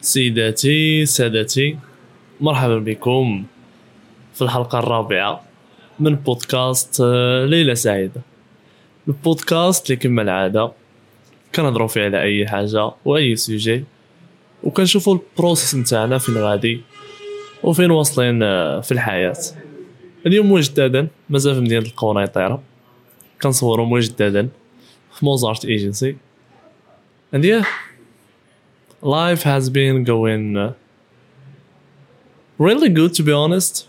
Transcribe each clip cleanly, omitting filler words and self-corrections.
سيداتي سادتي، مرحبا بكم في الحلقة الرابعة من بودكاست ليلة سعيدة. البودكاست اللي كما العادة كنهضروا فيه على أي حاجة وأي سوجي، وكنشوفوا البروسيس نتاعنا فين غادي وفين واصلين في الحياة. اليوم مجددا مازال في مدينة القنيطرة، كنصوروا مجددا في موزارت ايجنسي. and yeah, life has been going really good to be honest.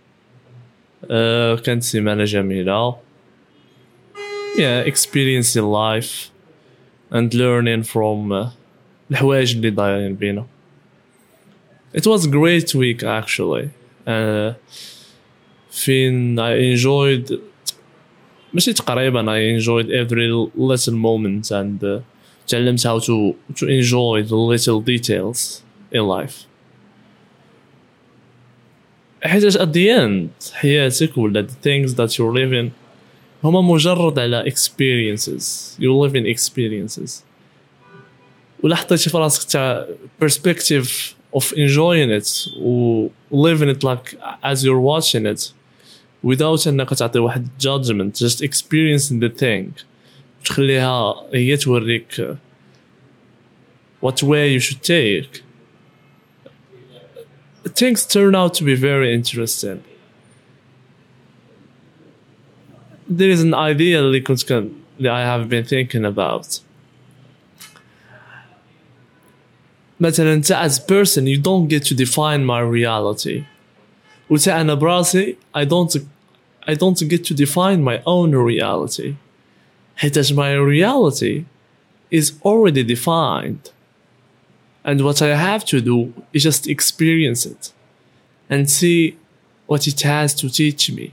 كانت سيمانة جميلة. Experiencing life and learning from الحوايج اللي دايرين بينا. It was a great week actually. فين I enjoyed ماشي تقريبا I enjoyed every little moment and تعلمت how to enjoy the little details in life. حيت at the end حياتك ولا the things that you're living هما مجرد على experiences. You live in experiences. ولا حطيتي في راسك تاع perspective of enjoying it و living it like as you're watching it without انك تعطي واحد judgment, just experiencing the thing تخليها هي توريك what way you should take. Things turn out to be very interesting. There is an idea that I have been thinking about. مثلا انت as person you don't get to define my reality. وتا أنا براسي I don't get to define my own reality. حيتاش my reality is already defined. And what I have to do is just experience it and see what it has to teach me.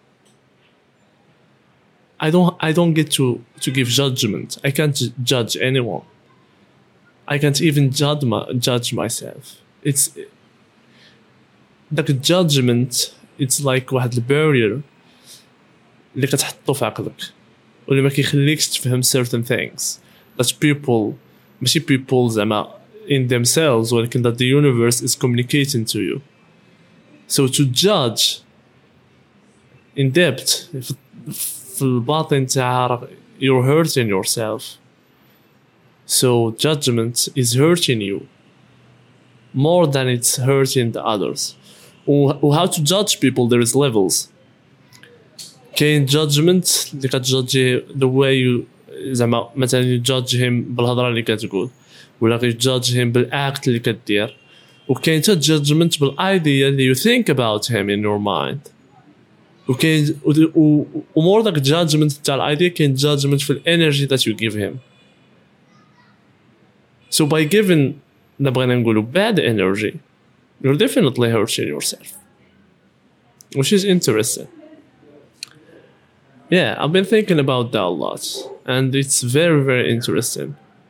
I don't get to give judgment. I can't judge anyone. I can't even judge myself. It's like a judgment. It's like واحد barrier اللي كتحطو في عقلك واللي ما كيخليكش تفهم certain things that people ماشي people زعما in themselves ولكن that the universe is communicating to you. So to judge in depth في الباطن تاع you're hurting yourself. So judgment is hurting you more than it's hurting the others. How to judge people, there is levels. كاين judgment اللي كتجادجي the way you زعما مثلا you judge him بالهضره اللي كتقول ولا you judge him بالاكت اللي كدير. وكاين حتى judgment بالايديا اللي you think about him in your mind. وكاين ومور داك judgment تاع الايديا كاين judgment في الانرجي that you give him. So by giving نبغينا نقولوا bad energy you're definitely hurting yourself, which is interesting. I've been thinking about that a lot and it's very very interesting.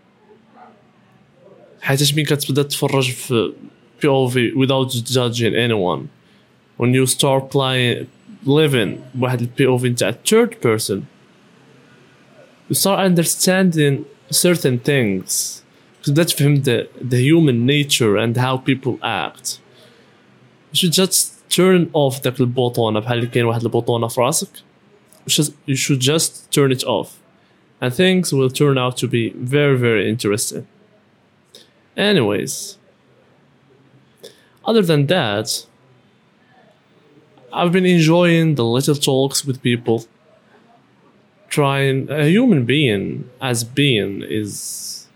حيتاش مين كتبدا تفرج في POV without judging anyone, when you start living بواحد ال POV نتاع third person you start understanding certain things. تبدا تفهم the human nature and how people act. You should just turn off داك البوطونة بحال اللي كاين واحد البوطونة في راسك. You should just turn it off and things will turn out to be very very interesting. Anyways, other than that, I've been enjoying the little talks with people. Trying a human being as being is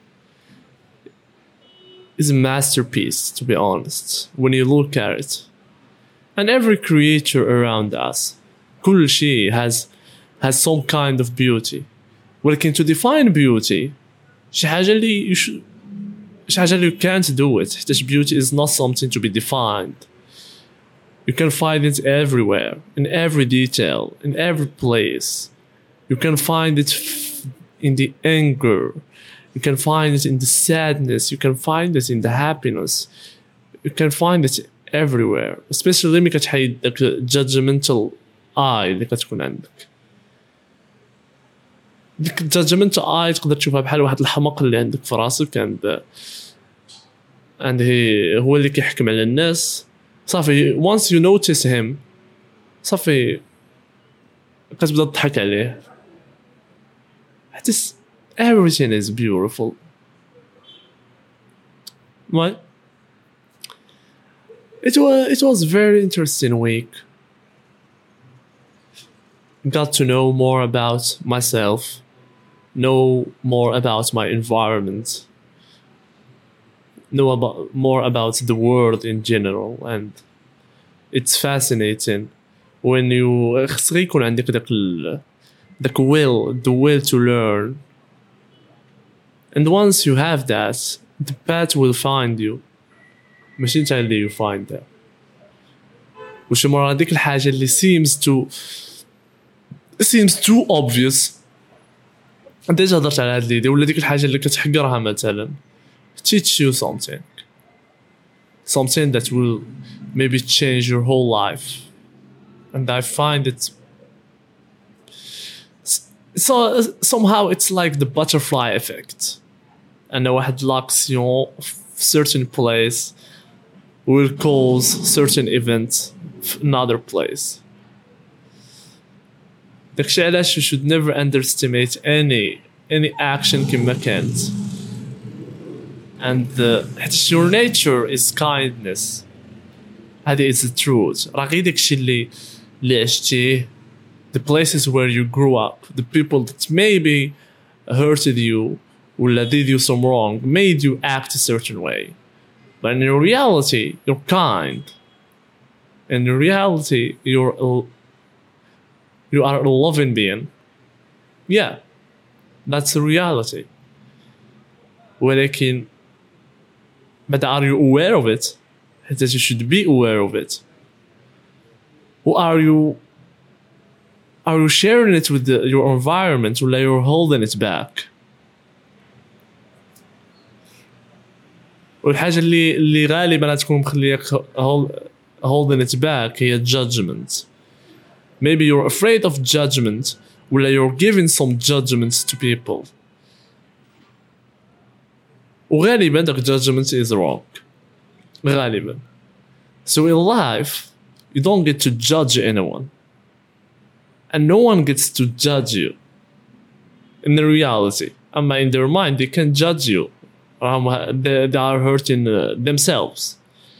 a masterpiece, to be honest, when you look at it. And every creature around us, كل شيء has some kind of beauty. ولكن to define beauty شي حاجة اللي you can't do it. حيت beauty is not something to be defined. You can find it everywhere, in every detail, in every place. You can find it in the anger. You can find it in the sadness. You can find it in the happiness. You can find it everywhere. Especially لما كتحيد داك judgmental eye اللي كتكون عندك. ديك judgmental eye تقدر تشوفها بحال واحد الحمق اللي عندك في راسك and and هو اللي كيحكم على الناس صافي. once you notice him صافي كتبدا تضحك عليه حتى everything is beautiful. Well, it was very interesting week. Got to know more about myself, know more about my environment, know more about the world in general, and it's fascinating when you خصك يكون عندك the will to learn, and once you have that the path will find you ماشي انت اللي you find that. وشي مرة هذيك الحاجة اللي seems too obvious انت هضرت على هاد ليدي ولا ديك الحاجة اللي كتحقرها مثلا teach you something that will maybe change your whole life. And I find it so somehow it's like the butterfly effect. And واحد l'action certain place will cause certain event in another place. داكشي علاش you should never underestimate any action كما كانت. And your nature is kindness. هذه is the truth. راه غير داكشي اللي عشتيه, the places where you grew up, the people that maybe hurted you or did you some wrong, made you act a certain way. But in reality, you're kind. In reality, you are a loving being. Yeah, that's the reality. ولكن but are you aware of it? That you should be aware of it. Or are you sharing it with your environment, or you're holding it back? والحاجة اللي غالبا تكون مخليك holding it back هي judgment. Maybe you're afraid of judgment, or you're giving some judgments to people. وغالبا that judgment is wrong. غالبا. So in life, you don't get to judge anyone. And no one gets to judge you. In the reality. In their mind, they can judge you. They are hurting themselves.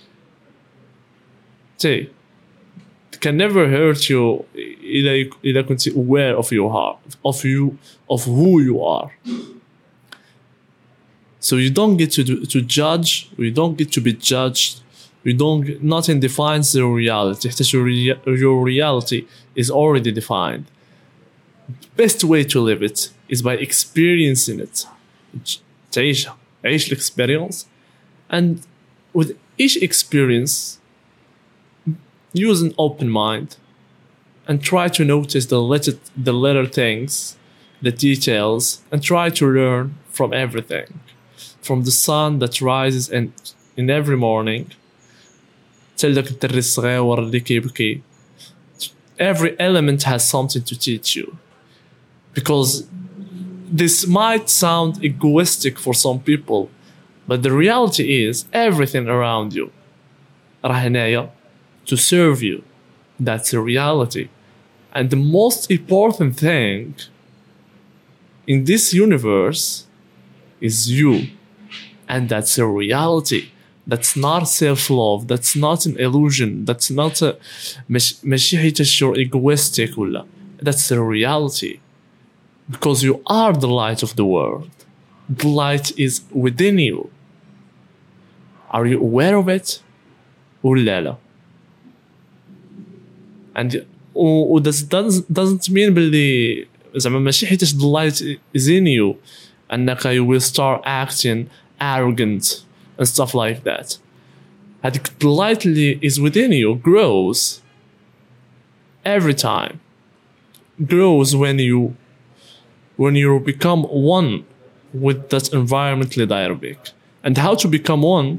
See, they can never hurt you إذا كنت aware of your heart, of who you are. So you don't get to judge, you don't get to be judged, nothing defines your reality. Your reality is already defined. The best way to live it is by experiencing it. عيش experience, and with each experience use an open mind and try to notice the little things, the details, and try to learn from everything. From the sun that rises in every morning till داك الدري الصغير اللي كيبكي. Every element has something to teach you. Because this might sound egoistic for some people, but the reality is everything around you راه هنايا to serve you. That's the reality. And the most important thing in this universe is you. And that's a reality. That's not self-love. That's not an illusion. That's not a ماشي حيتاش you're egoistic ولا. That's the reality. Because you are the light of the world. The light is within you. Are you aware of it? ولا لا? And doesn't mean باللي زعما ماشي حيتاش the light is in you أنك you will start acting arrogant and stuff like that. هذيك the light اللي is within you grows every time. Grows when you become one with that environment اللي داير بك. And how to become one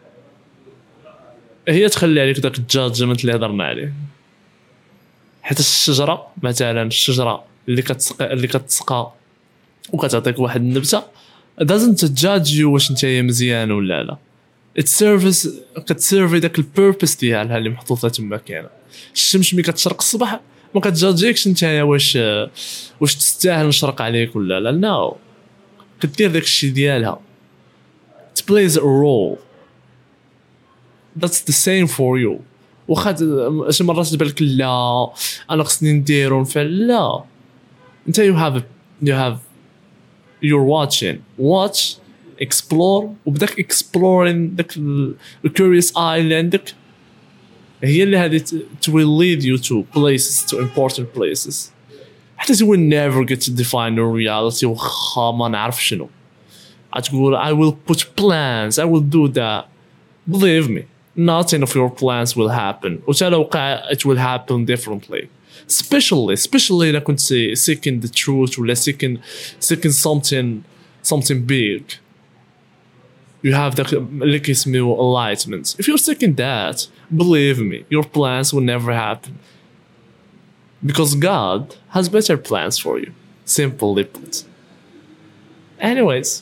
هي تخلي عليك داك الجادجمنت اللي هضرنا عليه. حيت الشجرة مثلا اللي كتسقى وكتعطيك واحد النبتة doesn't judge you واش نتايا مزيان ولا لا. السيرفيس كتسيرفي داك البيربس ديالها اللي محطوطه تما كاينه. الشمس ملي كتشرق الصباح ما كتجاجيكش نتايا واش تستاهل نشرق عليك ولا لا. نو كدير داك الشيء ديالها. it plays a role. that's the same for you. واخا شي مرات تبان لك لا انا خصني ندير ونفعل، لا انت you have you're watching watch explore وبداك exploring داك curious eye اللي عندك هي اللي هذه it will lead you to places to important places. حتى you will never get to define your reality وخا ما نعرف شنو غتقول I will put plans I will do that. believe me nothing of your plans will happen وتا لو وقع it will happen differently. especially إذا كنت seeking the truth ولا seeking something big. you have that اللي كيسميو enlightenment. if you're seeking that believe me your plans will never happen because God has better plans for you. simply put. anyways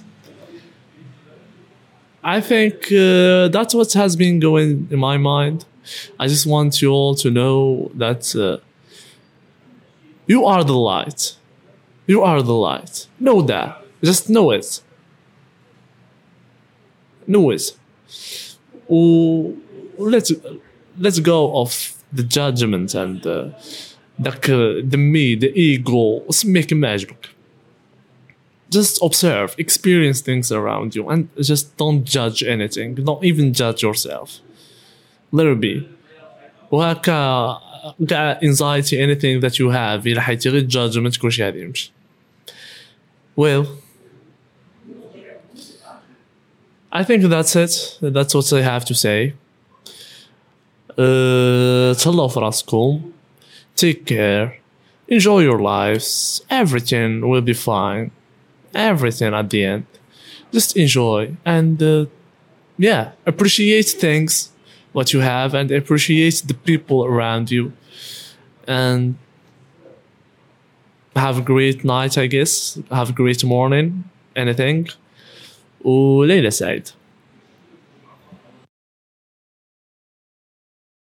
I think that's what has been going in my mind. I just want you all to know that you are the light. You are the light. Know that. Just know it. Know it. Let's go of the judgment and the me, the ego. سميه كما عجبك. Just observe, experience things around you, and just don't judge anything. Don't even judge yourself. Let it be. وهكا كاع anxiety anything that you have إلا حيتي غير judgment كلشي غادي يمشي. Well, I think that's it. That's what I have to say. تهلاو في راسكم. Take care. Enjoy your lives. Everything will be fine. Everything at the end. Just enjoy and appreciate things what you have and appreciate the people around you and have a great night I guess. Have a great morning. Anything. وليلة سعيدة.